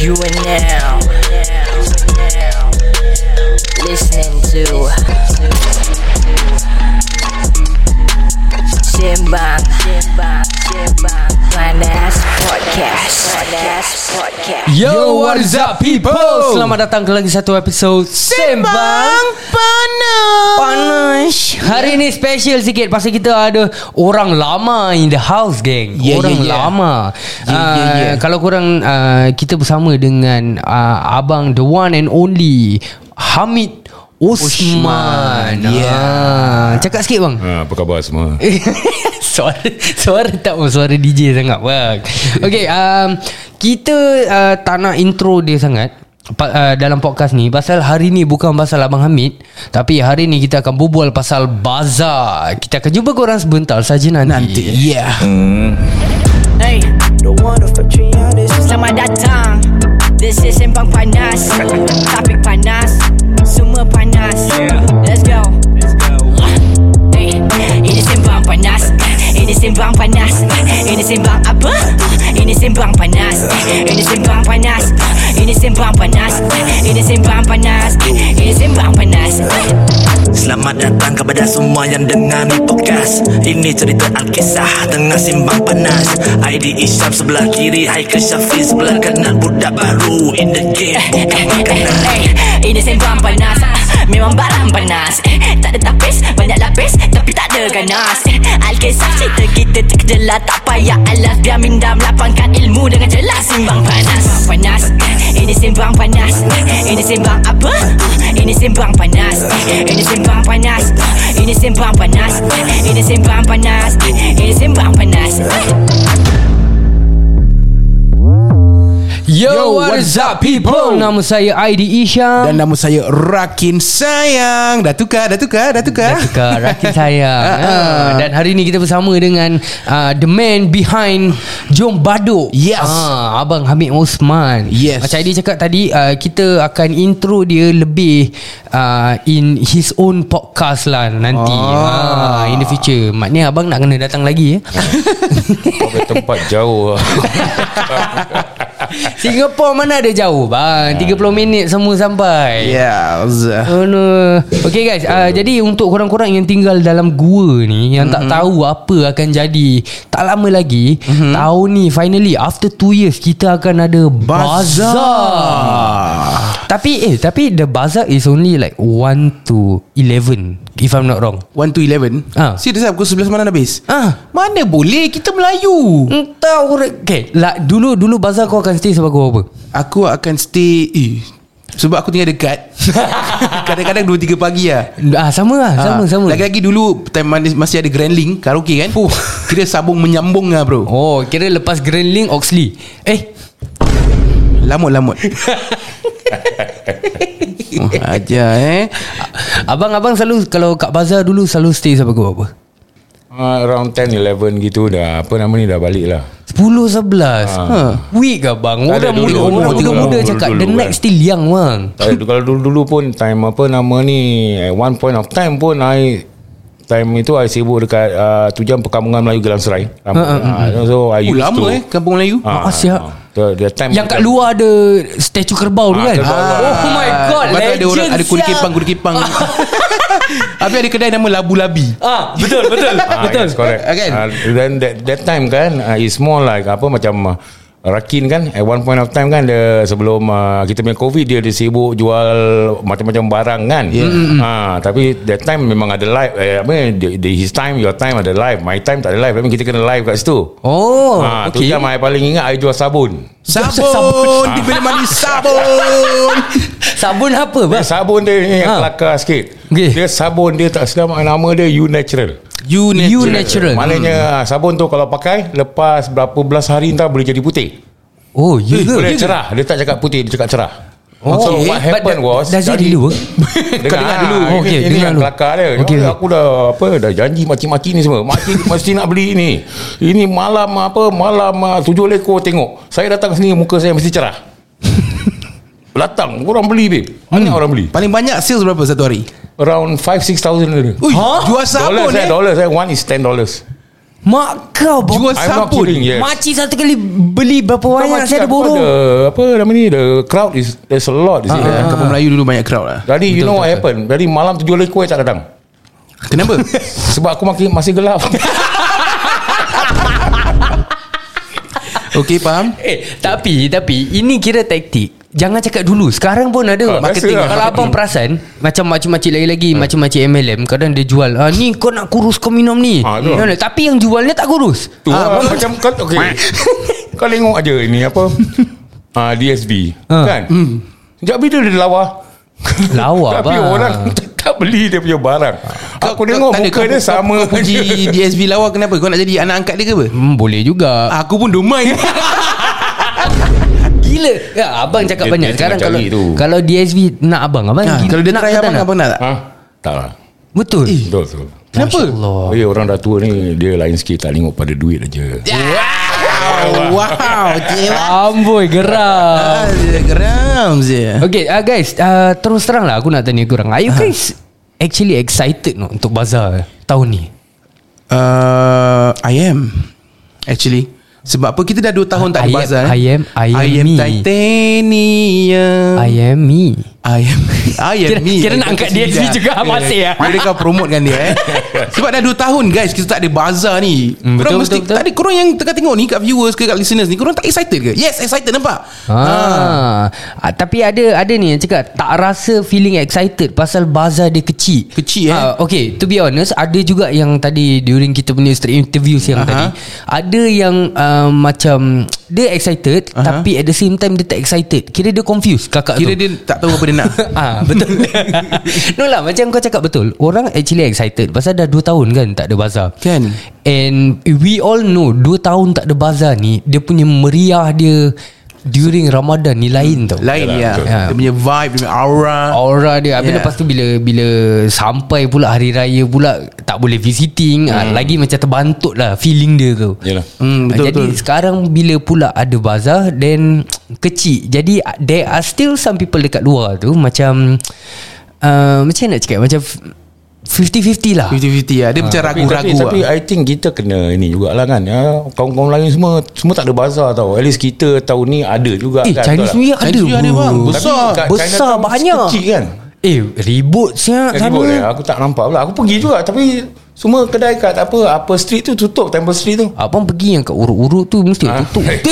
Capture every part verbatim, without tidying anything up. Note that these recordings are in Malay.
You are now listening to Sembang Panas Podcast. Yo, what is up people? Selamat datang ke lagi satu episod Sembang Panas. Panas. Hari ni special sikit pasal kita ada orang lama in the house, geng. Yeah, orang yeah, yeah. lama. Yeah, uh, yeah, yeah. Kalau korang uh, kita bersama dengan uh, abang the one and only Hamid Osman. Ya. Yeah. Cakap sikit bang. Ha, apa khabar semua? Suara Suara tak mau suara D J sangat bang. Okay, um, kita uh, tak nak intro dia sangat uh, dalam podcast ni, pasal hari ni bukan pasal Abang Hamid, tapi hari ni kita akan berbual pasal bazar. Kita akan jumpa korang sebentar saja nanti, nanti. Yeah. Hmm. Hey, selamat datang. This is Sembang Panas. Topik panas, semua panas. Let's go. Hey, ini Sembang Panas. Ini Sembang Panas. Ini Sembang apa? Ini Sembang Panas. Ini Sembang Panas. Ini Sembang Panas. Ini Sembang Panas. Ini Sembang Panas. Selamat datang kepada semua yang dengar ni podcast. Ini cerita Alkisah tengah Sembang Panas. I D Isyam sebelah kiri, Haikal Syafiq sebelah kanan. Budak baru in the game, bukan makanan. Ini Sembang Panas, memang barang panas. Tak ada tapis, banyak lapis, tapi tak ada ganas. Alkisah cerita kita terkejelah, tak payah alas. Biar minda melapangkan ilmu dengan jelas. Sembang Panas, panas. Ini Sembang Panas. Ini Sembang apa? Ini Sembang Panas. Ini Sembang Panas. Ini Sembang Panas. Ini Sembang Panas. Ini Sembang Panas. Yo, Yo what is up people? Nama saya I D Isyam. Dan nama saya Rakin Sayang. Dah tukar, dah tukar, dah tukar. Dah tukar, Rakin Sayang. uh, Dan hari ni kita bersama dengan uh, the man behind Jom Baduk. Yes. uh, Abang Hamid Osman. Yes. Macam I D cakap tadi, uh, kita akan intro dia lebih uh, in his own podcast lah nanti. Ah. uh, In the future. Maknanya abang nak kena datang lagi ya. Sampai tempat jauh. Singapura mana ada jauh bang, tiga puluh minit semua sampai. Yes. Oh no. Okay guys, uh, jadi untuk korang-korang yang tinggal dalam gua ni, yang mm-hmm. tak tahu apa akan jadi, tak lama lagi mm-hmm. tahun ni finally after two years kita akan ada bazar, bazar. Tapi eh tapi the bazaar is only like one to eleven if I'm not wrong. one to eleven. Ah. Serius lah, pukul sebelas malam habis. Ah, mana boleh, kita Melayu. entah orang. Okay lah, dulu dulu bazar kau akan stay sebab kau apa? Aku akan stay eh, sebab aku tinggal dekat. Kadang-kadang dua tiga pagi lah. Ah, sama lah, sama Ah, sama. Lagi-lagi dulu time masih ada Grand Link karaoke kan. Fuh. Kira sabung menyambung lah bro. Oh, kira lepas Grand Link Oxley. Eh, Lamut-lamut. Oh, aja eh. abang-abang selalu kalau kat bazar dulu selalu stay sampai pukul apa? Uh, around ten eleven gitu dah. Apa nama ni, dah balik lah. Sepuluh sebelas. Ah. Ha. Week ke bang? Tak ada, Orang dulu, muda, dulu, orang dulu, tiga dulu, muda dulu, cakap dulu, the kan. night still young bang. Tak, kalau dulu-dulu pun time apa nama ni, at one point of time pun I time itu I sibuk dekat uh, tu jam Perkampungan Melayu Gelang Serai. Ha, ha, uh, so I Oh, used lama to eh Kampung Melayu. Ah, Ah, siap. ah, the, the time Yang kat luar ada statue kerbau tu Ah, kan? kerbau tu. Oh my god, Lepas tu ada orang, legend ada kuda siap. kepang, kuda kepang. Habis ada kedai nama Labu Labi. Ah, betul betul. Ah, betul. yes, correct. Ah, kan? Uh, then that, that time kan uh, it's more like apa macam uh, Rakin kan at one point of time kan dia, sebelum uh, kita punya COVID, dia, dia sibuk jual macam-macam barang kan. Yeah. Ha, tapi that time memang ada live eh, apa the, the, his time your time ada live, my time tak ada live. Tapi kita kena live kat situ. Oh, Ha, tu okay. jam I paling ingat I jual sabun. Sabun, Sabun. di bilik mandi sabun. Sabun apa bang? Sabun dia ni Ha. yang kelakar sikit. Okay. Dia sabun dia tak sedap, nama dia You Natural. You natural. You natural. Maknanya sabun tu kalau pakai lepas berapa belas hari entah boleh jadi putih. Oh, ya ke? Boleh cerah. Dia tak cakap putih, dia cakap cerah. Oh, so okay. what But happened was, does it jadi- really work? Dengar, dengar dulu. Ini, Okay, ini dengar yang dulu. kelakar dia. Okay. Aku dah apa dah janji maki-maki ni semua. Maki mesti nak beli ni. Ini malam apa malam uh, tujuh lekor tengok. Saya datang sini muka saya mesti cerah. Datang orang beli babe. Banyak Hmm. orang beli. Paling banyak sales berapa satu hari? Around five six thousand. Ui, Huh? jual sabun Dollars eh. eh, dollars eh. One is ten dollars. Mak kau Jual I'm not sabun. kidding, yes. Makcik satu kali beli berapa Kau banyak macam saya ada apa, borong. the, apa nama ni, the crowd is there's a lot di sini. Ah, Kampung Melayu dulu banyak crowd lah. Jadi you know what happen? Jadi malam tu jual kuih tak datang. Kenapa? Sebab aku masih masih gelap. Okey, faham? Eh, tapi tapi ini kira taktik. Jangan cakap dulu. Sekarang pun ada Ah, marketing. biasa lah, Kalau abang perasan, macam makcik-makcik lagi-lagi, macam-makcik M L M, kadang dia jual, ah, ni kau nak kurus kau minum ni. Ah, tu. Nah, tapi yang jualnya tak kurus. Tu ah, lah, macam kau okey. Kau tengok aja ini apa? Ah, D S B Ah. kan? Hmm. Sekejap bila dia lawa. Lawa, Tapi bang. orang tak beli dia punya barang. Aku tengok tak ada, muka kau- dia kau- sama. Kau puji D S B lawa kenapa? Kau nak jadi anak angkat dia ke apa? Hmm, boleh juga. Aku pun domai. Gila. Ya, abang cakap Dia- banyak. dia Sekarang tengah kalau cari tu. kalau D S B nak abang, abang Ha, gila, kalau dia nak try ke tak abang, nak? abang nak tak? Ha? Tak lah. Betul. Betul betul. Kenapa? Allah. Oh, ya, orang dah tua ni dia lain sikit, tak tengok pada duit aja. Wow, wow, cewa. Amboi, geram. Ah, dia geram je. Okay, uh, guys, uh, terus terang lah aku nak tanya korang. Are you guys actually excited no, untuk bazar tahun ni? Uh, I am actually. Sebab apa kita dah dua tahun tak ada I am- bazar. I am- I am I am me. titanium. I am me. I am I am Kira- me. kira nak angkat D S B juga masih, ah. Boleh kau promotekan dia eh. Sebab dah dua tahun guys kita tak ada bazar ni. Hmm, Korang betul, mesti betul, betul. tak ada, korang yang tengah tengok ni kat viewers ke kat listeners ni, korang tak excited ke? Yes, excited nampak. Ah, ah, tapi ada ada ni yang cakap tak rasa feeling excited pasal bazar dia kecil. Kecil, eh? Ah, okay, to be honest, ada juga yang tadi during kita punya straight interviews yang Aha. tadi, ada yang uh, macam dia excited tapi at the same time dia tak excited. Kira dia confused kakak Kira tu. dia tak tahu apa dia nak. Ah, betul. No lah, macam kau cakap betul. Orang actually excited pasal dah dua tahun kan tak ada bazar. Kan? And we all know dua tahun tak ada bazar ni, dia punya meriah dia during Ramadan ni lain tau. Lain Yalah, dia. betul. Ya. Dia punya vibe, dia punya aura. Aura dia. Habis Yeah. lepas tu bila bila sampai pula hari raya pula tak boleh visiting, hmm. ah, lagi macam terbantuk lah feeling dia tu. Yalah. Hmm, betul, Jadi betul. sekarang bila pula ada bazar then kecil. Jadi there are still some people dekat luar tu macam uh, macam nak cakap, macam fifty-fifty lah. fifty-fifty lah. Dia macam Tapi, ragu-ragu tapi, tapi lah. I think kita kena ini jugalah kan ya, kawan-kawan lain semua semua tak ada bazar tau. At least kita tahun ni ada juga Eh, kan. Chinese betul New tak? Year ada Chinese New Year ada, bro. bang. Tapi Besar. kat Besar Chinatown banyak. kecil kan. Eh ribut siap Eh, sana. ribut eh. Aku tak nampak pula. Aku pergi juga tapi semua kedai kat apa apa street tu tutup, Temple Street tu. Abang pergi yang kat urut-urut tu mesti Ah. tutup. Eh,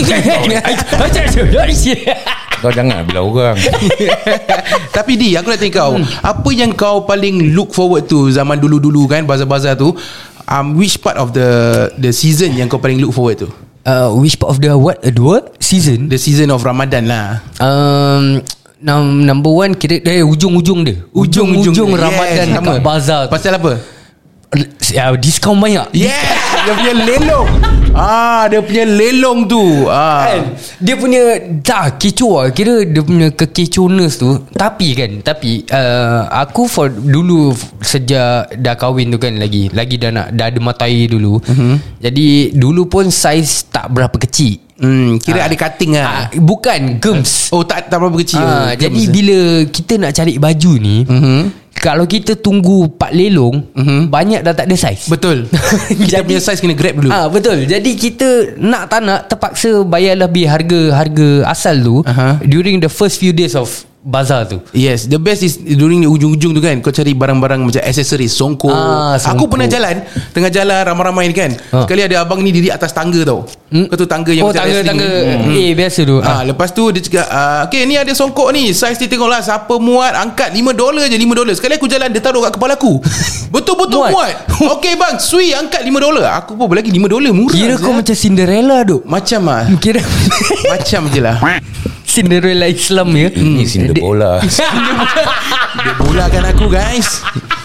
Kau jangan bila orang. Tapi Di, aku nak tanya kau, apa yang kau paling look forward to zaman dulu-dulu kan, bazar-bazar tu? Um, which part of the the season yang kau paling look forward to? Uh, which part of the what? Uh, the what? Season? The season of Ramadan lah. Um, num- number one kira eh, ujung-ujung dia. Ujung-ujung Ramadan Yes, dekat sama. bazar tu. Pasal apa? Uh, diskaun banyak. Yes, dia punya lelong. Ah, dia punya lelong tu. Ah. Kan? Dia punya dah kecoh lah. Kira dia punya kekecohness tu. Tapi kan, tapi uh, aku for dulu sejak dah kahwin tu kan lagi lagi dah nak dah ada mata air dulu. Uh-huh. Jadi dulu pun saiz tak berapa kecil. Hmm, kira ada cutting Ah, lah. bukan gems. Oh, tak tak berapa kecil. Ah, Oh, jadi gems. bila kita nak cari baju ni, Mhm. kalau kita tunggu Pak Lelong, Mhm. banyak dah tak ada saiz. Betul. Kita Jadi- punya size kena grab dulu. Ah betul. Jadi kita nak tak nak terpaksa bayar lebih harga harga asal tu Aha. during the first few days of bazar tu. Yes, the best is during the ujung-ujung tu kan, kau cari barang-barang macam accessories, songkok. Ah, Aku songkok. pernah jalan, tengah jalan ramai-ramai ni kan. Ah. Sekali ada abang ni diri atas tangga tau. Hmm? Kau tu tangga yang Oh macam tangga wrestling tangga ni. eh biasa tu. Ah, lepas tu dia cakap, ah, okay ni ada songkok ni, saiz ni tengoklah siapa muat, angkat lima dolar je, lima dolar. Sekali aku jalan, dia taruh kat kepala aku. Betul-betul Muat. muat. Okay bang, sui angkat lima dolar. Aku pun lagi lima dolar murah. Kira kau je. macam Cinderella tu. Macam ah. Kira Macam je lah. Cinderella Islam ya. Ini Cinder bola. Dia bolakan aku guys.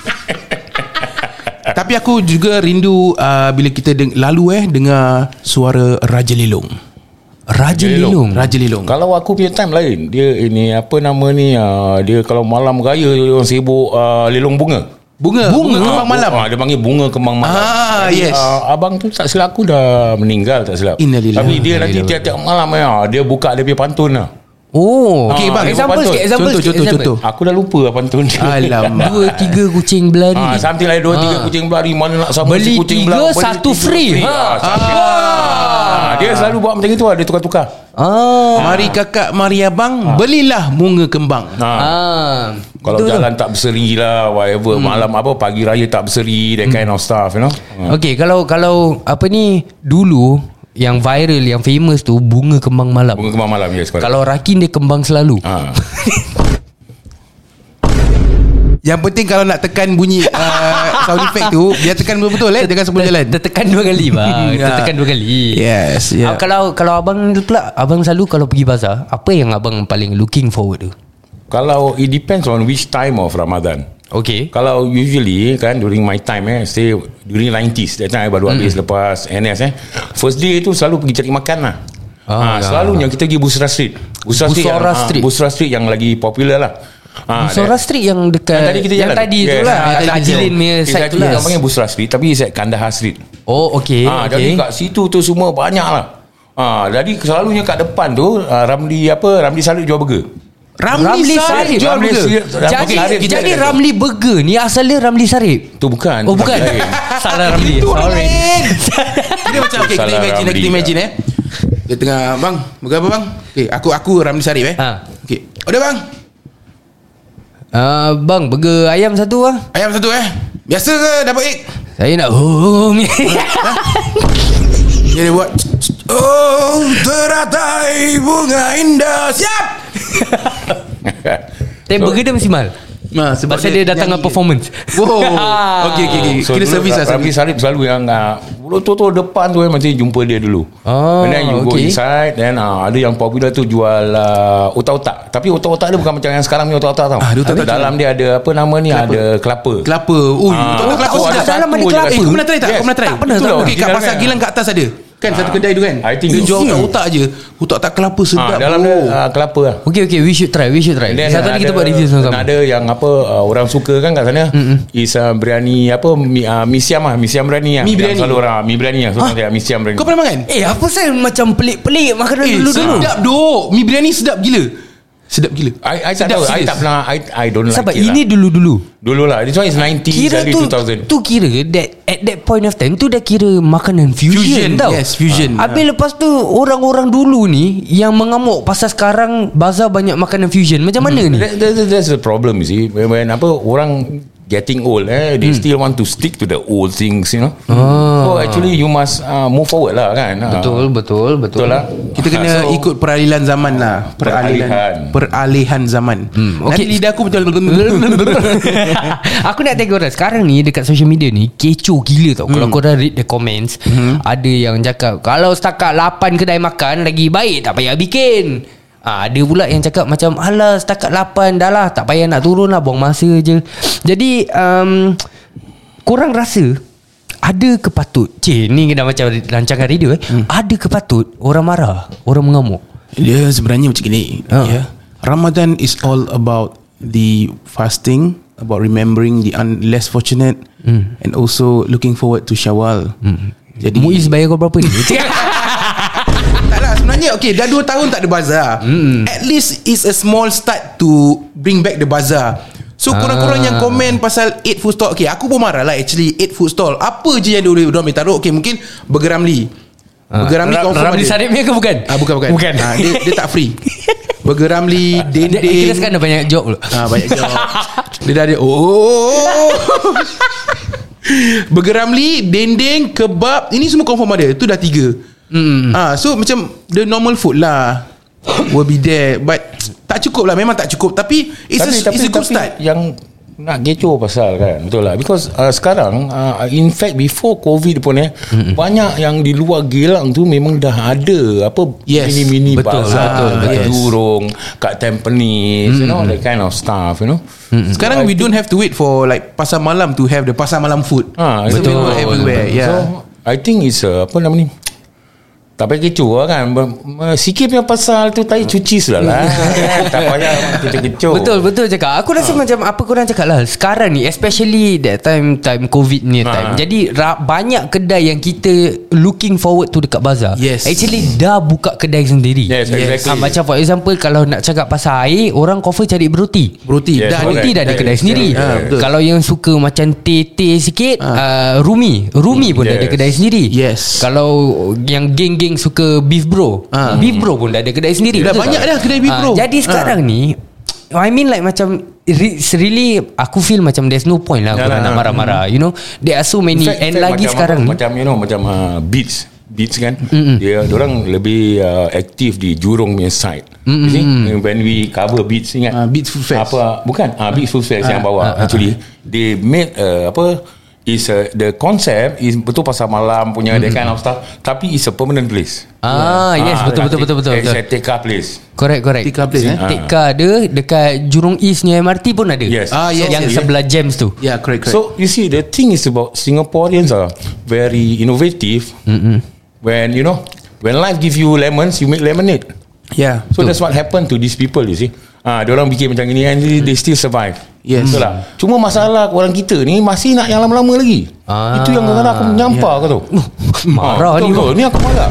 Tapi aku juga rindu uh, bila kita deng- lalu eh dengar suara Raja Lelong. Raja Lelong. Raja Lelong. Kalau aku punya time lain, dia ini apa nama ni, uh, dia kalau malam raya dia orang sibuk uh, lelong bunga. Bunga, bunga, bunga kembang malam. Ah, dia panggil bunga kembang malam. Ah, Jadi, yes. Uh, abang tu tak silap aku dah meninggal tak silap. Innalillahi Tapi dia wa nanti inna tiap-tiap malam ya, dia buka dia punya pantun lah. Oh, Okey, bang, example pantun. sikit, example Contoh, sikit, contoh, example. contoh. Aku dah lupa apa pantun dia. Alamak. Dua tiga kucing berlari. Ah, something like dua tiga Ah. kucing berlari, mana nak sama Beli si kucing tiga, berlari, beli satu tiga free. Ha. Ah, something. Ah, dia selalu buat macam itu, dia tukar-tukar. Ah. Mari kakak, mari abang, belilah bunga kembang. Ah. Ah. Kalau Betul, jalan tak berseri lah, whatever, malam apa pagi raya tak berseri, that kind of stuff, you know. Ah. Okey, kalau kalau apa ni dulu yang viral, yang famous tu bunga kembang malam. Bunga kembang malam, yes, correct. Kalau Rakin dia kembang selalu. Ah. Yang penting kalau nak tekan bunyi uh, sound effect tu, dia tekan betul-betul eh, jangan sebelum jalan. Tertekan dua kali bang. Ya. Tertekan dua kali. Yes, yeah. Ah, Kalau kalau abang pula, abang selalu kalau pergi bazar, apa yang abang paling looking forward tu? Kalau it depends on which time of Ramadan. Okay. Kalau usually kan during my time eh, say during nineties, that time I baru habis mm. lepas N S eh. First day tu selalu pergi cari makan lah. Ah, ha, selalunya kita pergi Busra Street. Busra Street, Busra yang, Street. ah, Busra Street yang lagi popular lah. Ha, Busra Street yang dekat yang tadi kita yang jalan tadi tu Yes. lah, Ah, yang tadi Ajilin punya kita side tu jalan. lah. Kita panggil Busra Street, tapi it's at Kandahar Street. Oh, okay, Ah, okay. Jadi kat situ tu semua banyak lah. Ah, jadi selalunya kat depan tu ah, Ramli apa Ramli Salib jual burger. Ramli, Ramli Sarip Sarip jual Ramli burger. Sarip. Jadi Okey, Sarip jadi dia ada. Ramli Burger ni asalnya Ramli Sarip. Tu bukan. Oh bukan. Lain. Salah Ramli. Itu Sorry. lain. Kita macam okay, kita Salah imagine Ramli. kita imagine eh. Dia tengah bang, burger apa bang? Okey, aku aku Ramli Sarip eh. Ha. Okey. Order bang. Ah, bang, burger ayam satu ah. Ayam satu eh. Biasa ke dapat egg? Saya nak home. Dia dia buat oh teratai bunga indah. Siap. Tapi burger dia mesti mahal. Nah, sebab Pasal dia, datang dengan nyanyi. performance. Wow. Okey okey okey. So, Kira dulu servis lah Ramli servis. Sarip selalu yang uh, betul-betul depan tu eh, mesti jumpa dia dulu. Oh, And then you go okay. inside. Then uh, ada yang popular tu jual uh, otak-otak. Tapi otak-otak dia bukan macam yang sekarang ni otak-otak tau. Ah, dia otak-otak Dalam dia ada apa nama ni, Kelapa. ada kelapa. Kelapa. Ui, Ah, betul tak kelapa oh, sedap. ada dalam ada satu je kelapa. kat Eh, situ. kau pernah try tak? Yes. Kau pernah try? Tak pernah, Betul tak lah. pernah. Okey, kat Dia pasar dalam- Gilang kat atas ada. Kan satu kedai tu kan. I think dia so. jual otak-otak je. Otak-otak kelapa sedap. Ah, dalam bro. dia uh, kelapa lah. Okay okay, we should try, we should try. And then Satu hari kita ada- buat review sama-sama. Ada yang apa uh, orang suka kan kat sana is uh, biryani apa mi, uh, mi siam lah, mi siam biryani lah. Mi Yang biryani. Selalu orang mi biryani lah. So Hah? nanti mi siam biryani. Kau pernah makan? Eh, apa saya macam pelik-pelik makanan Eh, dulu-dulu. sedap dok. Mi biryani sedap gila. Sedap gila. I, I tak Sedap tahu. I serious. tak pernah. I, I don't Sebab like it ini lah. dulu-dulu. Dulu lah. This one is nineties Kira early tu two thousand. tu kira that at that point of time tu dah kira makanan fusion, Fusion, tau. yes, fusion. Habis lepas tu orang-orang dulu ni yang mengamuk pasal sekarang bazar banyak makanan fusion. Macam mana ni? That, that, that's the problem, you see. When, when apa orang getting old, eh, they Hmm. still want to stick to the old things, you know. Ah. So actually you must uh, move forward lah kan. Ah. Betul, betul, betul. Betul lah. Kita kena So, ikut peralihan zaman lah. Peralihan Peralihan. Peralihan zaman. Hmm, Nanti okey. lidah aku betul. Aku nak tengok korang sekarang ni dekat social media ni kecoh gila tau. Hmm. Kalau korang read the comments, hmm. ada yang cakap kalau setakat lapan kedai makan lagi baik tak payah bikin. Ah, ada pula yang cakap macam alah setakat lapan dah lah, tak payah nak turun lah, buang masa je. Jadi um, korang rasa ada ke patut, cik ni dah macam rancangan radio eh, hmm. ada ke patut orang marah, orang mengamuk? Dia sebenarnya macam gini. Ha. Ya. Ramadan is all about the fasting, about remembering the un- less fortunate, mm. and also looking forward to Syawal. Mm. Jadi Muiz bayar kau berapa ni? taklah sebenarnya okay, dah dua tahun tak ada bazar. Mm. At least it's a small start to bring back the bazar. So Ah. korang-korang yang komen pasal eight food stall, okay, aku pun marah lah actually eight food stall. Apa je yang dia dia boleh taruh? Okay, mungkin Burger Ramli. Burger Ramli confirm Ramli ada. Sarip ni ke bukan? Ah, bukan bukan. Bukan. Ah, dia, dia tak free. Burger Ramli, Dia, dendeng. kita sekarang dah banyak job pula. Ah, banyak job. Dia dah ada. Oh. Burger Ramli, dendeng, kebab, ini semua confirm ada. Itu dah tiga. Mm. Ah, so macam the normal food lah will be there, but tak cukup lah, memang tak cukup. Tapi it's tapi, a, tapi, it's a good tapi start. yang nak kecoh pasal kan, betul lah, because uh, sekarang uh, in fact before COVID pun eh, mm-hmm. banyak yang di luar Geylang tu memang dah ada apa Yes, mini-mini betul, bazar betul, kat yes. Jurong, kat Tampines, mm-hmm. you know, that kind of stuff, you know. Mm-hmm. Sekarang we don't have to wait for like pasar malam to have the pasar malam food. Ah, It's betul, available everywhere. betul. Yeah. So I think it's uh, apa nama ni, tak payah kecoh lah kan. Sikit punya pasal tu tahi cuci sudah lah. Tak payah kita kecoh. Betul betul cakap. Aku rasa ha. macam apa korang cakap lah, sekarang ni especially that time time COVID ni ha. time. Jadi ra- banyak kedai yang kita looking forward to dekat bazar. Yes. Actually dah buka kedai sendiri. Yes, exactly. ha, Macam for example, kalau nak cakap pasal air, orang cover cari beroti. Beroti. Yes, Dah Beroti dah ada dah- kedai sendiri. Ha, betul. Kalau yang suka macam teh-teh sikit, Ha. uh, Rumi Rumi pun dah ada Yes. kedai sendiri. Yes. Kalau yang geng-geng suka beef bro, Ha. beef bro pun dah ada kedai sendiri. Dah Betul banyak tak? dah kedai beef Ha, bro. Jadi sekarang ni I mean like macam It's really aku feel macam there's no point lah Yalah, korang nak nah. marah-marah. You know, there are so many. In fact- And in fact, lagi macam sekarang apa, ni macam you know macam uh, Beats Beats kan, dia orang lebih uh, aktif di Jurong punya side. You see, when we cover Beats, ingat Ah, Beats Food Fest. apa bukan ah Beats Food Fest yang bawa actually they made uh, apa is uh, the concept is betul pasal malam punya that kind of stuff, tapi it's a permanent place. Ah yes, Ah, betul betul betul betul. It's betul. a take-up place. Correct correct. Tekka place, eh? Tekka ada dekat Jurong Eastnya M R T pun ada. Yes. Ah, yes, Yang yes, sebelah Gems tu. Yeah, correct, correct. So you see, the thing is about Singaporeans are very innovative. Mm-mm. When you know, when life give you lemons, you make lemonade. yeah. So that's what happened to these people. You see, ah, dia orang bikin macam ini and they, they still survive. Yes. Betul lah. Cuma masalah orang kita ni masih nak yang lama-lama lagi. Ah. Itu yang kadang-kadang aku menyampah yeah. kau tahu. Marah Ah, ni, betul, bang. betul. Ni aku marah.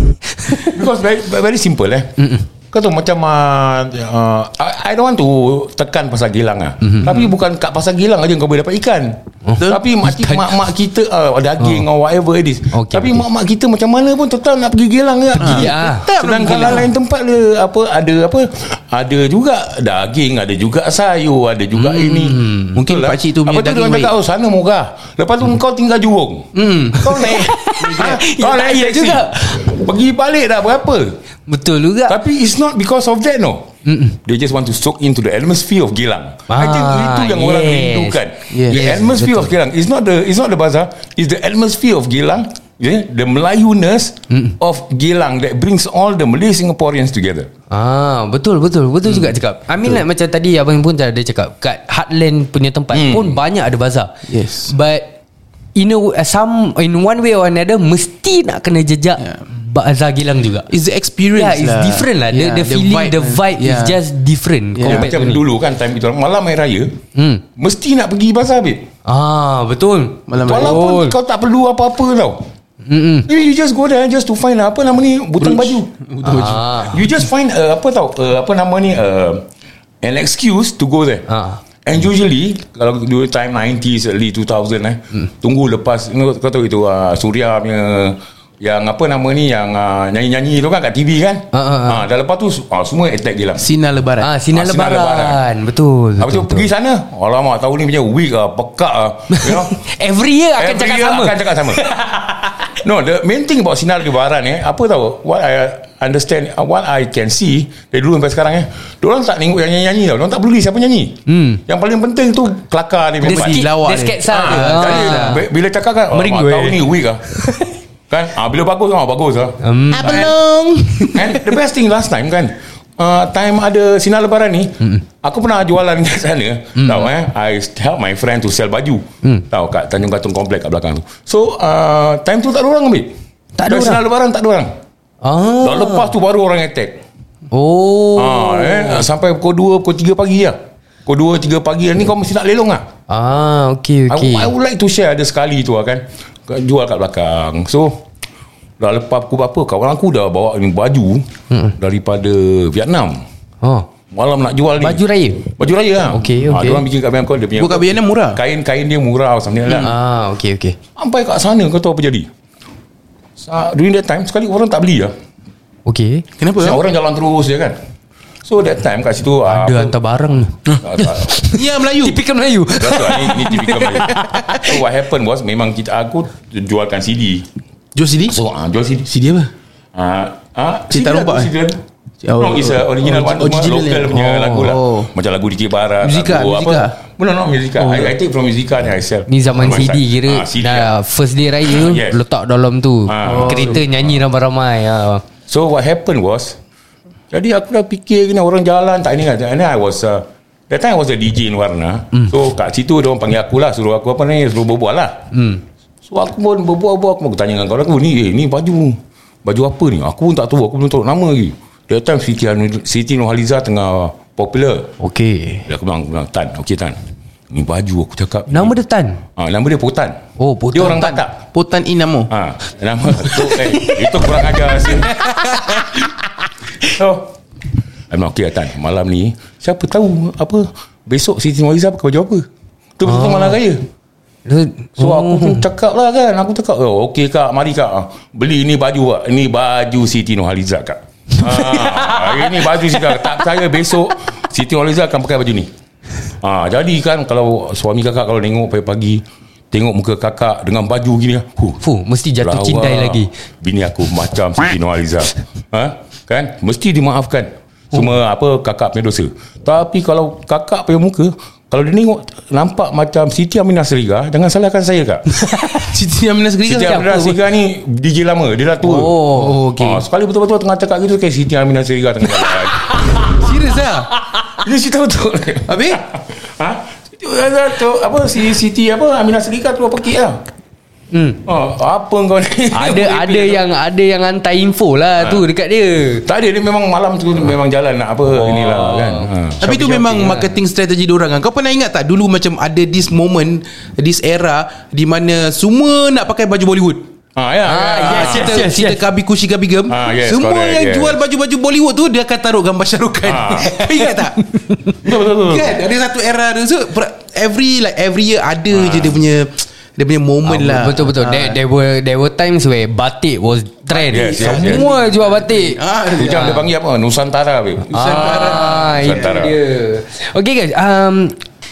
Because very, very simple eh. Mm-mm. Kau tahu macam uh, uh, I, I don't want to tekan pasal Gilang lah. Mm-hmm. Tapi bukan kat pasal Gilang aja kau boleh dapat ikan. Oh. Tapi mak, mak-mak kita uh, daging oh. or whatever it is. Okay, Tapi okay. mak-mak kita macam mana pun tetap nak pergi Gilang je. Pergi, ah. Sedangkan lain tempat dia apa ada apa ada juga daging, ada juga sayur, ada juga hmm. ini. Mungkin Betul pakcik tu punya apa tu daging dia cakap baik. oh sana murah. Lepas tu kau tinggal Jurong. Hmm. Kau naik ha, kau naik Ya, taxi. juga. Pergi balik dah berapa? Betul juga. Tapi it's not because of that no. Mm-mm. They just want to soak into the atmosphere of Gilang. I think Ah, itu yang orang yes. rindukan. Yes. The Yes, atmosphere of Gilang. It's not the it's not the bazaar. It's the atmosphere of Gilang. Yeah? The Melayuness mm. of Gilang that brings all the Malay Singaporeans together. Ah, betul betul betul hmm. juga cakap. I mean like macam tadi abang pun ada cakap kat Heartland punya tempat Hmm. pun banyak ada bazar. Yes. But in a, some in one way or another mesti nak kena jejak Yeah. bazar Gilang juga. It's the experience Yeah, it's lah. different lah. The, Yeah, the feeling, the vibe Yeah. is just different. Yeah. Yeah, compared macam to ni. dulu kan time itu malam hari raya Hmm. mesti nak pergi bazar babe. Ah, betul. Malam raya. Walaupun kau tak perlu apa-apa tau. Mm-mm. You just go there just to find apa nama ni butang baju. Ah. You just find uh, apa tau uh, apa nama ni uh, an excuse to go there. Ah. And usually kalau dulu time nineties early two thousand eh hmm. tunggu lepas you know, kau tahu itu uh, Suria punya yang apa nama ni yang uh, nyanyi-nyanyi tu kan kat T V kan. Ah, ah, ah. Ah, dah lepas tu uh, semua attack Gilang. Sinar lebaran. Ah, sinar, Ah, sinar lebaran. lebaran. Betul. Habis tu betul, pergi sana. Alamak tahun ni punya week ah pekak ah. You know. Every year akan Every cakap year sama. akan cakap sama. No, the main thing about sinar lebaran eh, apa tahu? What I understand, uh, what I can see dari dulu sampai sekarang eh, diorang tak tengok yang nyanyi-nyanyi tau. Diorang tak peduli siapa nyanyi. Hmm. Yang paling penting tu kelakar dia Dia memang. skit, lawak dia dia. sketsa Ah, dia. jadi Ah. b- bila cakap kan, Merindu, "Alamak, tahun eh." ni week ah. Kan? Ah, bila bagus ah bagus ah. Um, Apa long? And the best thing last time kan, uh, time ada sinar lebaran ni, mm. aku pernah jualan kat sana. Mm. Tahu eh, I help my friend to sell baju. Mm. Tahu kat Tanjung Katong Komplek kat belakang tu. So, uh, time tu tak ada orang ambil. Tak ada Dan orang? sinar lebaran tak ada orang. Ah. Dah lepas tu baru orang attack. Oh. Ah, eh, sampai pukul dua, pukul tiga pagi lah. Pukul dua, tiga pagi ni kau mesti nak lelong lah. Ah, okay, I, okay. I would like to share ada sekali tu lah kan. Jual kat belakang. So, dah lepas pukul berapa, kawan aku dah bawa ni baju hmm. daripada Vietnam. Oh. Malam nak jual ni. Baju raya. Baju raya lah. Okey, Ah, okey. dia orang bikin kat Bangkok dia punya. Bukan Vietnam murah. Kain-kain dia murah something like that. Ah, okay, okay. Sampai kat sana kau tahu apa jadi? Sa- During that time sekali orang tak beli lah. Okay. Kenapa? Siap orang jalan terus je kan. So that time kat situ ah, Ada hantar barang. tak, tak. Ya, Melayu. Tipikal Melayu. That's right, ni, ni typical Melayu. So what happened was memang kita aku jualkan C D. Jual C D? So ah, jual C D. C D apa? Ah, ah, Cik tak nampak, C D. Oh, No, it's a original oh, one. original Local eh? punya Oh, lagu lah. oh. Macam lagu D J Barat. Musica, lagu Musica. apa? No, no, Musica. Oh. I, I take from Musica ni I sell. Ni zaman On my C D side. kira Ah, C D dah lah. first day raya Yes. letak dalam tu. Ah. Kereta nyanyi ramai-ramai. Ah. So what happened was, jadi aku dah fikir gini orang jalan tak ini kan. And then I was uh, that time I was a D J in Warna. Mm. So kat situ dia orang panggil aku lah, suruh aku apa ni, suruh berbual lah. Hmm. So aku pun berbual-bual, aku mau tanya dengan kawan aku, ni eh, ni baju baju apa ni? Aku pun tak tahu. Aku belum tahu nama lagi. That time Siti, Siti Nurhaliza tengah popular. Okay. Dia aku bilang, bilang Tan, okey Tan, ni baju aku cakap. Nama dia Tan? Ha, nama dia Potan. Oh, Potan. Dia orang Tatak. Potan Inamo. Ha, nama tu eh, itu kurang ajar. So, memang okey Tan, malam ni siapa tahu apa besok Siti Nurhaliza pakai baju apa. Tu betul-betul Ah. malam raya. So oh. aku pun cakap lah kan. Aku cakap, oh, okey kak, mari kak, beli ni baju kak. Ini baju Siti Nurhaliza kak. ha, Ini baju Siti Nurhaliza. Tak percaya besok Siti Nurhaliza akan pakai baju ni. ha, Jadi kan kalau suami kakak kalau tengok pagi-pagi, tengok muka kakak dengan baju gini, huh, Fuh, mesti jatuh lawa. cintai lagi. Bini aku macam Siti Nurhaliza. ha? Kan mesti dimaafkan. Semua apa kakak punya dosa. Tapi kalau kakak punya muka, kalau dia tengok nampak macam Siti Aminah Seriga, jangan salahkan saya kak. Siti Aminah Seriga. Siti Aminah Seriga ni D J lama, dia dah tua. Oh, okey. ha, Sekali betul-betul tengah cakap gitu, kayak Siti Aminah Seriga tengah jalan. Serius lah. Ini cerita betul. Habis? ha? Apa si Siti apa Aminah Seriga tu apa kek lah. Hmm. Oh, apa kau ni? Ada ada yang ada yang hantar info lah tu dekat dia. Tak ada, dia memang malam tu memang jalan nak apa oh. inilah kan. Ha. Tapi tu memang marketing strategi diorang kan. Kau pernah ingat tak dulu macam ada this moment, this era di mana semua nak pakai baju Bollywood. Ah ya. Ah, ya. yes, Cerita, yes, cerita yes. Kabi Kushi Kabi Gem. Ah, yes, semua correct, yang yes. jual baju-baju Bollywood tu dia akan taruh gambar Shah Rukh Khan. Ah. Kau ingat tak? Betul betul. betul. Kan ada satu era tu. So every like every year ada Ah. je dia punya dia punya moment Ah, lah. Betul betul. Ah. There, there were there were times where batik was trend. Yes, yes, Semua jual batik. Ah, Hujang dia panggil apa? Nusantara babe. Ah, itu Nusantara. dia. Okay guys, um,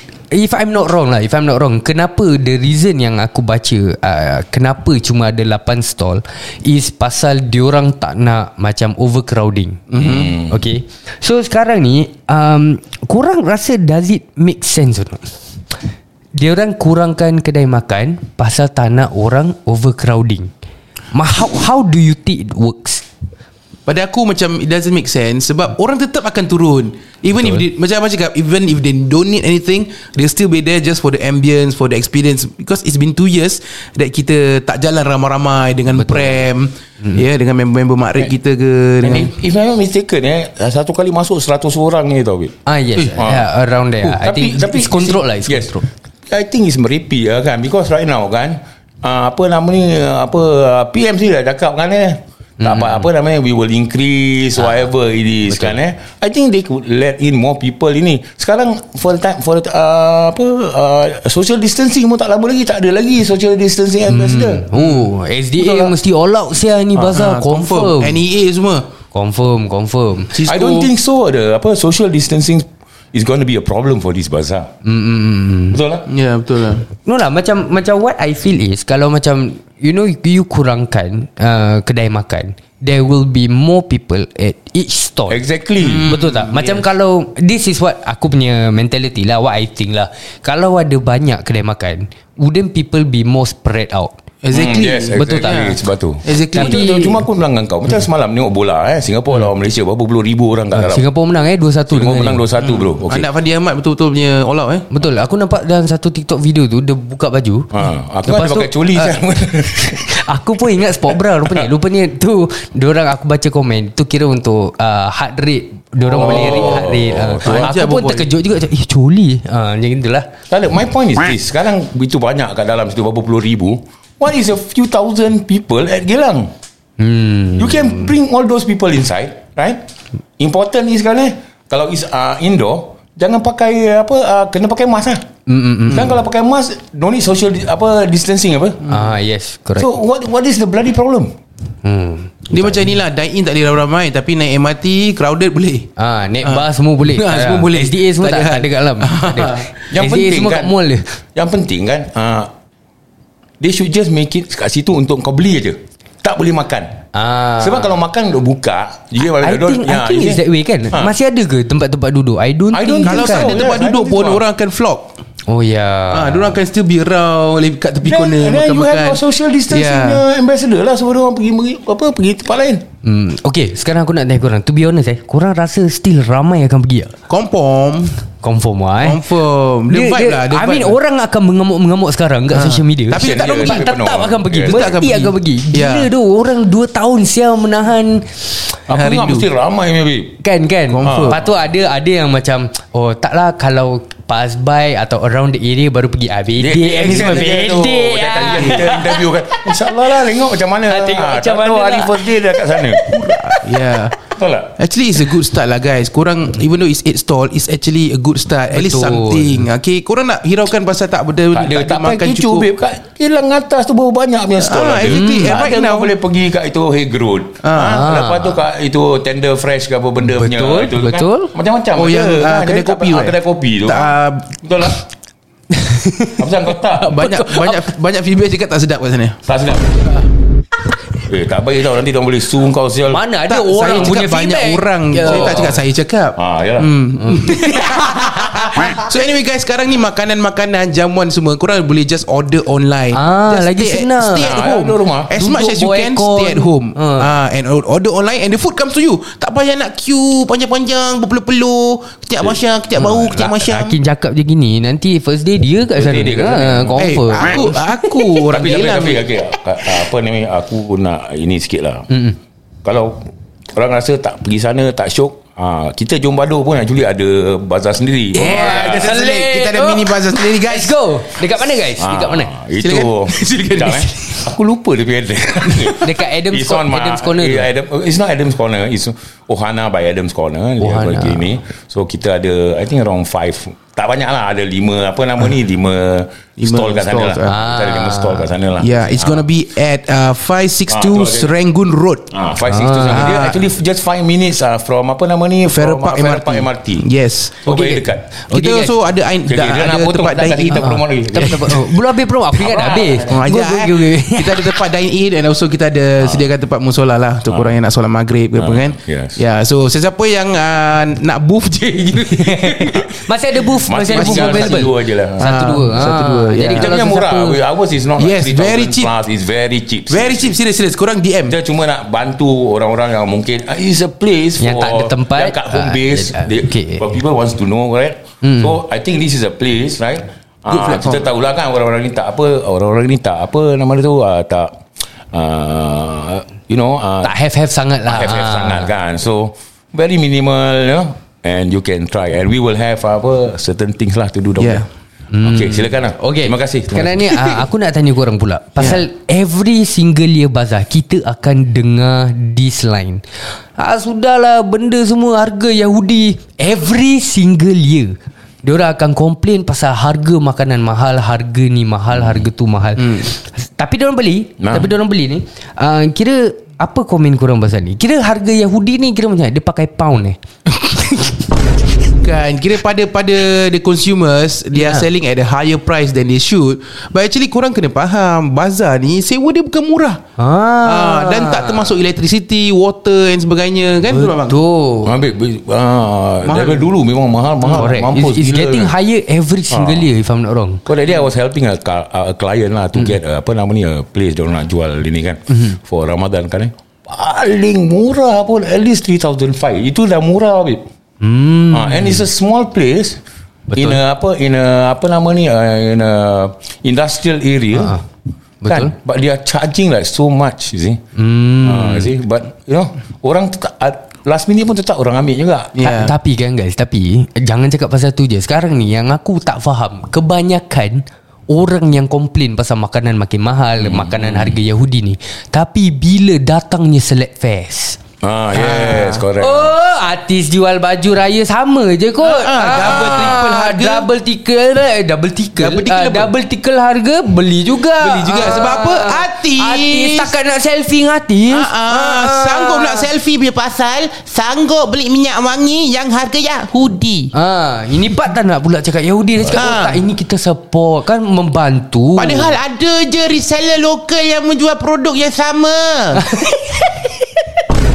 if I'm not wrong lah, if I'm not wrong, kenapa the reason yang aku baca, uh, kenapa cuma ada lapan stall is pasal diorang tak nak macam overcrowding. Mm-hmm. Okay. So sekarang ni, um, korang rasa does it make sense or not? Diorang kurangkan kedai makan pasal tak nak orang overcrowding. Ma, how, how do you think it works? Pada aku macam it doesn't make sense sebab orang tetap akan turun. Even Betul. if they, macam apa cakap, even if they don't need anything, they'll still be there just for the ambience, for the experience. Because it's been two years that kita tak jalan ramai-ramai dengan Betul. Prem, mm-hmm. ya, yeah, dengan member-member makrif kita ke. And Dengan, if, if I'm not mistaken eh, satu kali masuk seratus orang ni tau babe. Ah yes, Eh, yeah, around there. Oh, I think it's control lah, it's yes. control. I think it's merepek lah kan. Because right now kan, uh, apa nama ni, apa uh, P M C dah cakap kan eh, tak apa, apa namanya, we will increase whatever it is. Betul. Kan eh. I think they could let in more people ini. Sekarang for the time, for the, uh, apa uh, social distancing pun tak lama lagi, tak ada lagi social distancing ambassador. Oh, S D A Betul lah. mesti all out sia ni bazar, ah, confirm. N E A semua. Confirm, confirm. Cisco. I don't think so. Ada apa social distancing is going to be a problem for this bazaar. Mm-mm. Betul lah. Ya, yeah, betul lah. No lah, macam macam what I feel is kalau macam you know you kurangkan uh, kedai makan, there will be more people at each stall. Exactly. Hmm, betul tak? Macam yes. kalau this is what aku punya mentality lah, what I think lah. Kalau ada banyak kedai makan, wouldn't people be more spread out? Exactly. Hmm, yes, Betul exactly. tak? Sebab tu. Exactly. Tapi- Tapi, cuma aku bilang dengan kau, macam semalam tengok bola eh, Singapura lawan Malaysia, berapa puluh ribu orang kat dalam. Singapura menang eh dua satu. Singapura menang dua satu bro. Okay. Anak Fandi Ahmad betul-betul punya all out eh. Betul. Aku nampak dalam satu TikTok video tu dia buka baju. Ha, aku Lepas ada tu, pakai coli ah, uh, Aku pun ingat sport bra rupanya. Rupanya tu diorang aku baca komen tu kira untuk uh, heart rate. Diorang Oh. boleh rate heart rate. Uh, tu ajar aku pun berbual. terkejut juga macam, eh coli. Ah, macam itulah. Tak ada. My point is this. Sekarang itu banyak kat dalam situ, berapa puluh ribu. What is a few thousand people at Geylang? Hmm. You can bring all those people inside, right? Important is sekarang eh, kalau is uh, indoor, jangan pakai apa, uh, kena pakai mask lah. Mm-mm. Dan kalau pakai mask, don't need social di, apa distancing apa. Ah yes, correct. So what what is the bloody problem? hmm. Dia macam inilah, dine in tak boleh ramai-ramai, tapi naik M R T crowded boleh. Ah, naik bus semua boleh. Ah, semua Ah, boleh. S D A semua Tak tak, ada tak hal. ada kat dalam. Tak ada. Yang S D A penting semua kan, kat mall dia. Yang penting kan, uh, they should just make it kat situ untuk kau beli aja. Tak boleh makan. Ah. Sebab kalau makan duk buka, dia I think, I think it's that way kan. Ha. Masih ada ke tempat-tempat duduk? I don't I think don't Kalau think tak so. ada tempat Yeah, I duduk don't pun think so. orang akan flock. Oh ya. Ah, diorang akan still be around kat tepi Then, corner and then you makan-makan. have social distancing Yeah. yeah. ambassador lah. Semua orang pergi apa pergi tempat lain. Hmm, okay, sekarang aku nak tanya korang. To be honest eh, korang rasa still ramai akan pergi tak? Confirm. Confirm lah eh. Confirm. Dia vibe lah. Dia I mean vibe lah. orang akan mengamuk-mengamuk sekarang kat social media. Tapi tak dia- pergi. dia- Tetap penuh. akan pergi. Yeah. Tetap akan Mesti pergi. akan pergi. Gila Yeah. tu, orang dua tahun sial menahan. Aku Hari ingat tu. mesti ramai maybe. Kan kan. Confirm. Lepas tu ada ada yang macam, oh taklah kalau pass by atau around the area baru pergi. Ah bedek ni semua bedek. Dah tadi ah. kita interview kan. InsyaAllah lah tengok macam mana. Ah, tengok macam tak mana tahu hari lah. first day dah kat sana. Yeah. Betul tak? Actually it's a good start lah guys. Korang even though it's eight stall, it's actually a good start. At least Betul. something. Okay, korang nak hiraukan pasal tak benda Tak ada, tak makan payah kecoh cukup. babe. Kat kilang atas tu baru banyak punya stall Ah, ada. exactly. Hmm. And right Ada now- kau boleh pergi kat itu Hague Road. Ah. Ah. Lepas tu kat itu Tender Fresh ke apa benda punya. Betul, Itu betul. Kan? Macam-macam Oh ada. yang Ah, uh, kedai jadi tak kopi payah- tu. Kedai kopi tu. Tak, ah, Betul lah. Apa pasal kau tak? banyak banyak banyak feedback cakap tak sedap kat sana. Tak sedap. Eh tak baik tau. Nanti diorang boleh sue kau sial. Mana ada Tak, orang saya punya cakap banyak feedback. orang. Ya. Saya tak cakap saya cakap. Ah, yalah. So anyway guys, sekarang ni makanan-makanan jamuan semua korang boleh just order online. Ah, just lagi stay senang. At, stay at Ah, home. duduk rumah. As Duduk much as you bawah can, aircon. stay at home. Ah. Ah, and order online and the food comes to you. Tak payah nak queue panjang-panjang, berpeluh-peluh, ketiak masyam, ketiak bau, ketiak masyam. Hakim cakap je gini, nanti first day dia kat First sana. day dia kat Ha, sana. Eh, confirm. aku aku orang Tapi tapi Geylang. tapi okay, apa ni aku nak ini sikit lah. Kalau orang rasa tak pergi sana tak syok, ha, kita Jom Badu pun actually ada bazar sendiri. Yeah, ada kita selit Kita ada tu. mini bazar sendiri guys. Let's go. Dekat mana guys? Ah, Dekat mana? Itu Silakan. Silakan. Sekejap, eh. Aku lupa dia punya address. Dekat Adam's It's Cor- on my- Adam's Corner tu. eh, Adam, It's not Adam's Corner. It's Ohana by Adam's Corner. Dia Ohana. bagi ni. So kita ada I think around five. Tak banyak lah. Ada lima apa nama ni? Lima stall kat sana stalls, lah. ah. Kita ada lima stall kat sana lah. Yeah, it's gonna be at uh, five six two Ah, tu ada. Serangoon Road. Ah, five six two Ah. Dia actually just five minutes ah from apa nama ni? Farrer From, Park ah, Farrer M R T. Park M R T. Yes. So Okay, very okay. dekat. Kita Okay, guys. also ada Okay, ada, okay, dia nak ada potong tempat tak dine tadi in. kita promote lagi. Tak apa, tak apa. Oh, belum habis promo. Aku ingat dah habis. Oh, ajar, Go, go, eh. go, go. Kita ada tempat dine in and also kita ada sediakan tempat musola lah untuk korang yang nak solat maghrib ke apa Ah, kan. yes. Ya, so sesiapa yang uh, nak booth je gitu. Masih ada booth, masih, ada booth tinggal available. Satu dua je lah. Satu dua. Ah, satu Ah, dua, ya. Jadi Kita kalau punya murah. sesiapa- Ours is not Yes, like very three thousand cheap. plus. It's very cheap. Very cheap, serius serius. Korang D M. Kita cuma nak bantu orang-orang yang mungkin ah, it's a place Yang for tak ada tempat. yang kat home Ah, base. ah, They, okay. for people wants to know, right? So I think this is a place, right? Good Ah, platform. kita tahulah kan orang-orang ni tak apa, orang-orang ni tak apa nama dia tu ah, tak ah, you know ah, Tak have-have sangat lah. have, have Ah. sangat kan. So very minimal, you know, and you can try and we will have apa certain things lah to do down Yeah. there. Okay, silakan lah. Okay. Terima kasih. Terima Sekarang kasih. ni ah, aku nak tanya korang pula. Pasal every single year bazaar kita akan dengar this line. Ah, sudahlah benda semua harga Yahudi. Every single year diorang akan komplain pasal harga makanan mahal, harga ni mahal, harga tu mahal. Hmm. Tapi diorang beli, Nah. tapi diorang beli ni uh, kira apa komen korang pasal ni? Kira harga Yahudi ni kira macam dia pakai pound eh. Kan kira pada pada the consumers they are Yeah. selling at a higher price than they should, but actually korang kena faham bazar ni sewa dia bukan murah. Ah. Ah, dan tak termasuk electricity, water and sebagainya kan. Betul tak, bang? Betul. Ambil ah, Mahal. daripada dulu memang mahal mahal Correct. mampus It's, it's gila. getting higher every single year if I'm not wrong. Kau that day I was helping a, ca- a client lah to get uh, apa nama ni a place dia orang nak jual ini kan for Ramadan kan eh. Paling murah pun at least three thousand five. Itu dah murah babe. Hmm. Uh, and it's a small place. Betul. In a apa in a apa nama ni uh, in a industrial area. Ah, betul. Kan? But they are charging like so much, you see. Hmm. Uh, you see, but you know, orang tetap uh, last minute pun tetap orang ambil juga. Yeah. Ta- Tapi kan guys, tapi jangan cakap pasal tu je. Sekarang ni yang aku tak faham, kebanyakan orang yang komplain pasal makanan makin mahal, hmm. makanan harga Yahudi ni. Tapi bila datangnya Select Fest, Ah, yes, correct. oh, artis jual baju raya sama je kot. Ah, ah, double, triple harga. Double tickle eh, Double tickle Double tickle Ah, apa? Double tickle harga. Beli juga. Beli juga. Sebab apa? Artis. Artis takkan nak selfie dengan artis. Ah, ah, sanggup nak selfie punya pasal sanggup beli minyak wangi yang harga Yahudi. Ah, ini part tak nak pula cakap Yahudi. Dia cakap Ah. oh, tak, ini kita support kan, membantu. Padahal ada je reseller lokal yang menjual produk yang sama.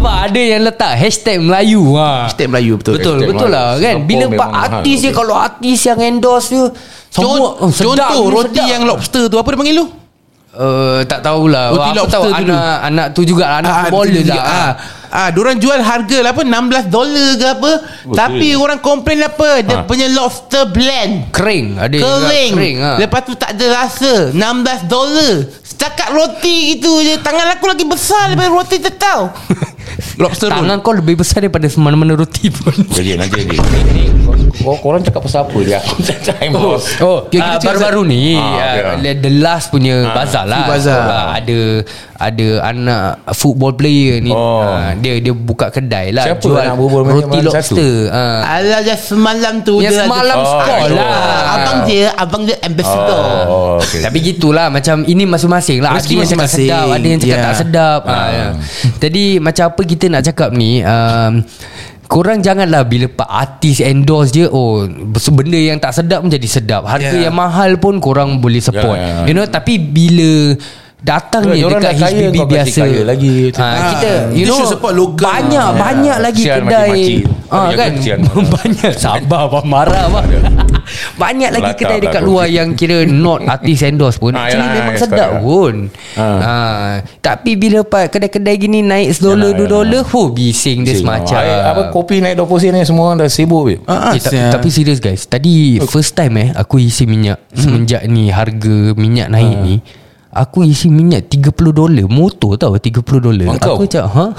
Apa ada yang letak hashtag Melayu ha. Hashtag Melayu betul. Betul Hashtag betul lah Melayu. kan. Bila Singapore pak memang artis mahal. dia, kalau artis yang endorse dia semua Con- oh, sedap, Contoh ni roti sedap. yang lobster tu, apa dia panggil lu? Uh, tak tahulah. Roti Aku lobster tahu dulu. anak anak tu juga anak Ah, footballer tu lah. juga, ah. Ah, diorang jual harga lah apa enam belas dolar ke apa. Betul. Tapi orang komplain apa? Dia Ah. punya lobster blend Kering, ada juga kering, kering ha. Lepas tu tak ada rasa. enam belas dolar. Setakat roti gitu je. Tangan aku lagi besar daripada roti tu tau. Lobster roll. Tangan kau lebih besar daripada mana-mana roti pun. Jadi nanti ni, ni kor- korang cakap pasal apa dia? Aku tak time bos. Oh, Okay, kita uh, cakap baru-baru ni Ah, uh, The last punya Ah, bazar lah. Food Bazaar. Uh, ada ada anak football player ni. Oh. Uh, dia dia buka kedai lah. Siapa jual anak berbual macam roti mana lobster. Uh. Alah dah semalam tu Yang dia semalam Oh, store itu. lah. Abang dia Abang dia ambassador. Oh, okay. Tapi gitulah, macam ini masing-masing lah. Ada Rezeki yang cakap masing-masing. sedap, ada yang cakap Ya. tak sedap. Ah. Ya. Jadi macam apa kita nak cakap ni, um, korang janganlah bila pak artis endorse je, oh benda yang tak sedap menjadi sedap. Harga Ya. yang mahal pun korang boleh support. Ya, ya. You know, tapi bila datang ni Diorang dekat dah kaya, H B B kau kasi biasa kaya lagi. ha, kita you Kita know should support local. banyak Ya. banyak lagi Kesian kedai makcik-makcik. ah Tapi kan kesian. banyak sabar bang, marah bang. Banyak lagi Melata kedai dekat belakang. luar yang kira not artis endorse pun Ah, actually yalah, memang yes, sedap correct. pun. Ah. Ha. Tapi bila pak kedai-kedai gini naik sedolar Yalah, dua yalah. dolar, ho bising dia semacam. Air, apa kopi naik dua puluh sen ni semua orang dah sibuk weh. Ah, Eh, ta- sial. tapi serius guys, tadi first time eh aku isi minyak semenjak ni harga minyak naik ni. Aku isi minyak tiga puluh dolar. Motor tau tiga puluh dolar. Engkau? Aku cakap ha.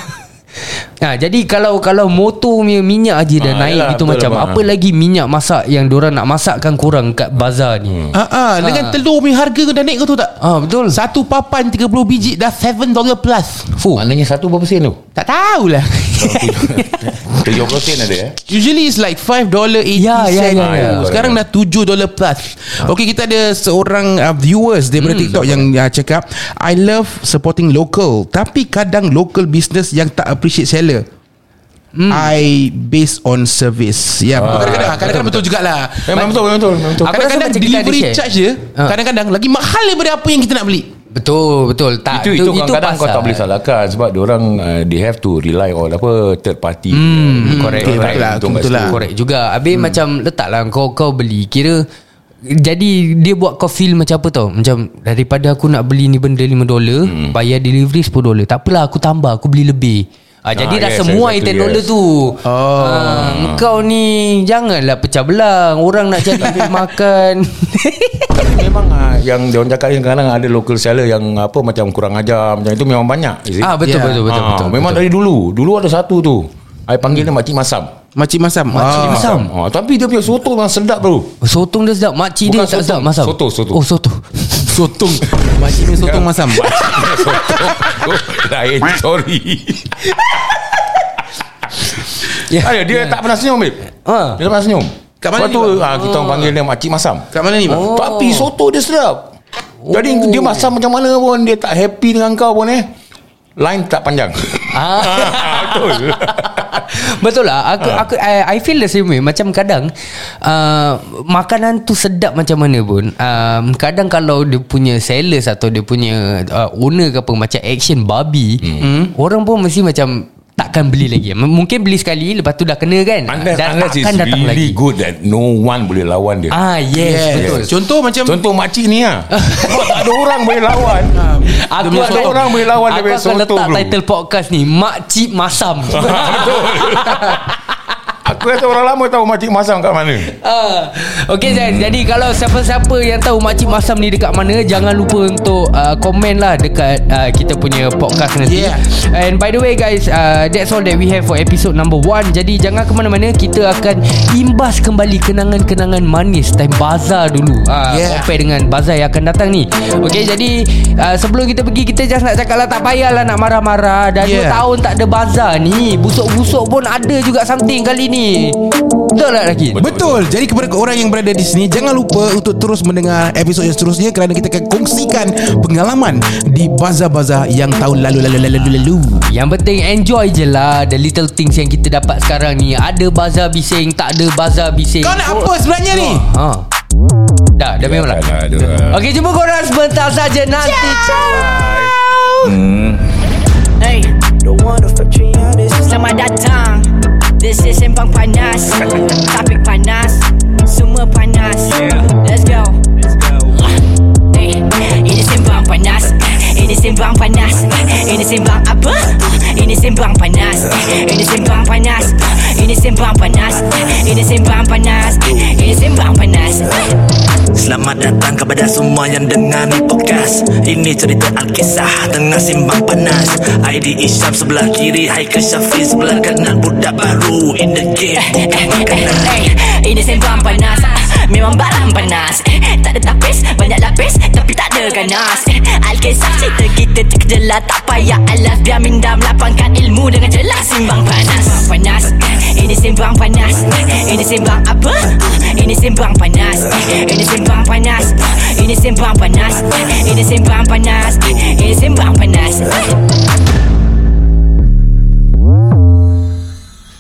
Ha, jadi kalau kalau motor punya minyak aja dah Ah, naik yalah, itu betul macam lah, apa bang. lagi minyak masak yang diorang nak masakkan korang kat bazar ni. Ah, ah, dengan telur punya harga kau dah naik kau tahu tak? Ah betul. Satu papan tiga puluh biji dah tujuh dolar plus. Fuh. Maknanya satu berapa sen tu? Tak tahulah. tujuh puluh sen ada eh. Usually it's like five dollars eighty Ya, ya, cents. ya, ya. Sekarang dah tujuh dolar plus. Okay, kita ada seorang uh, viewers daripada Hmm. TikTok yang uh, cakap, I love supporting local, tapi kadang local business yang tak appreciate seller. Hmm. I based on service. Ya, Ah, kadang-kadang kadang-kadang betul jugalah. Memang betul, memang betul, memang betul. Aku rasa Kadang-kadang macam kita ada delivery share. charge je Ah. kadang-kadang lagi mahal daripada apa yang kita nak beli. Betul betul tak itu itu kadang-kadang kau pasal. tak boleh salahkan sebab diorang uh, they have to rely on apa third party. Hmm, correct, betul correct. lah, Untung kat betul situ. lah. Correct juga. Habis hmm. macam letaklah kau kau beli kira, jadi dia buat kau feel macam apa tau, macam daripada aku nak beli ni benda lima dolar, hmm. bayar delivery sepuluh dolar, tak apalah aku tambah, aku beli lebih. Ah, jadi Ah, dah yes, semua exactly, ten dolar yes. tu. Oh. Ah, kau ni janganlah pecah belang. Orang nak cari duit makan. Memang uh, yang diorang cakap ni kadang-kadang ada local seller yang apa macam kurang ajar macam itu memang banyak. Is it? Ah betul Yeah. betul betul Ah, betul. memang betul. dari dulu. Dulu ada satu tu. I panggil dia Makcik Masam. Makcik Masam. Makcik Ah. Masam. Ah, tapi dia punya soto memang sedap bro. Sotong dia sedap, makcik dia Bukan tak sedap sotong. masam. Soto, soto. Oh soto. Sotong. Makcik punya sotong Masam. Soto. Lain sorry. Ya. Ada dia tak pernah senyum babe. Ah. Dia tak pernah senyum. Kat mana Lepas ni, tu bang? ah, kita orang panggil dia Makcik Masam. Kat mana ni, bang? Oh. Tapi soto dia sedap. Jadi dia masam macam mana pun dia tak happy dengan kau pun eh. Line tak panjang. Ah. Betul. Betul lah. Aku aku I, I feel the same way. Macam kadang uh, makanan tu sedap macam mana pun, um, kadang kalau dia punya sales atau dia punya uh, owner ke apa macam action babi, hmm. orang pun mesti macam takkan beli lagi. M- Mungkin beli sekali, lepas tu dah kena kan. Unless, Dan unless it's takkan datang really lagi. good that no one boleh lawan dia. Ah yes, Yes. betul. Contoh macam Contoh makcik ni lah. Sebab tak ada orang boleh lawan. Aku Demi akan, orang boleh lawan aku dia punya akan soto, letak bro. title podcast ni Makcik Masam. Betul. Aku rasa orang lama tahu Makcik Masam kat mana. Uh, okay Zain, jadi kalau siapa-siapa yang tahu Makcik Masam ni dekat mana, jangan lupa untuk uh, komen lah dekat uh, kita punya podcast nanti. Yeah. And by the way guys, uh, that's all that we have for episode number one. Jadi jangan ke mana-mana, kita akan imbas kembali kenangan-kenangan manis time bazar dulu, uh, Yeah. compare dengan bazar yang akan datang ni. Okay, jadi uh, sebelum kita pergi, kita just nak cakap lah, tak payahlah nak marah-marah. Dah Yeah. dua tahun tak ada bazar ni, busuk-busuk pun ada juga something kali ni. Betul tak Rakin? Betul. Jadi kepada orang yang berada di sini, jangan lupa untuk terus mendengar episod yang seterusnya, kerana kita akan kongsikan pengalaman di bazar-bazar yang tahun lalu lalu lalu lalu. Yang penting enjoy je lah the little things yang kita dapat sekarang ni. Ada bazar bising, tak ada bazar bising. Kau nak apa sebenarnya ni? Ha. Dah, dah memang lah. Dah, dah, dah. Okey, jumpa korang sebentar saja nanti. Ciao. Hey, Selamat datang. This is Sembang Panas. Topik panas, semua panas. Let's go. Hey, ini Sembang Panas. Ini Sembang Panas. Ini Sembang apa? Ini Sembang Panas. Ini Sembang Panas. Ini Sembang Panas. Ini Sembang Panas. Ini Sembang Panas. Selamat datang kepada semua yang dengar ni podcast. Ini cerita Alkisah tengah simbang panas. I D Isyam sebelah kiri, Haikal Syafiq sebelah kanan. Budak baru in the game, bukan makanan. Ini Sembang Panas. Memang barang panas. Tak ada tapis, banyak lapis, tapi tak ada ganas. Alkisah cerita kita terkejelas, tak payah alas. Biar minda melapangkan ilmu dengan jelas. Simbang Panas. Panas. Ini Sembang Panas. Ini Sembang apa? Ini Sembang Panas. Ini Sembang Panas. Ini Sembang Panas. Ini Sembang Panas. Ini Sembang Panas.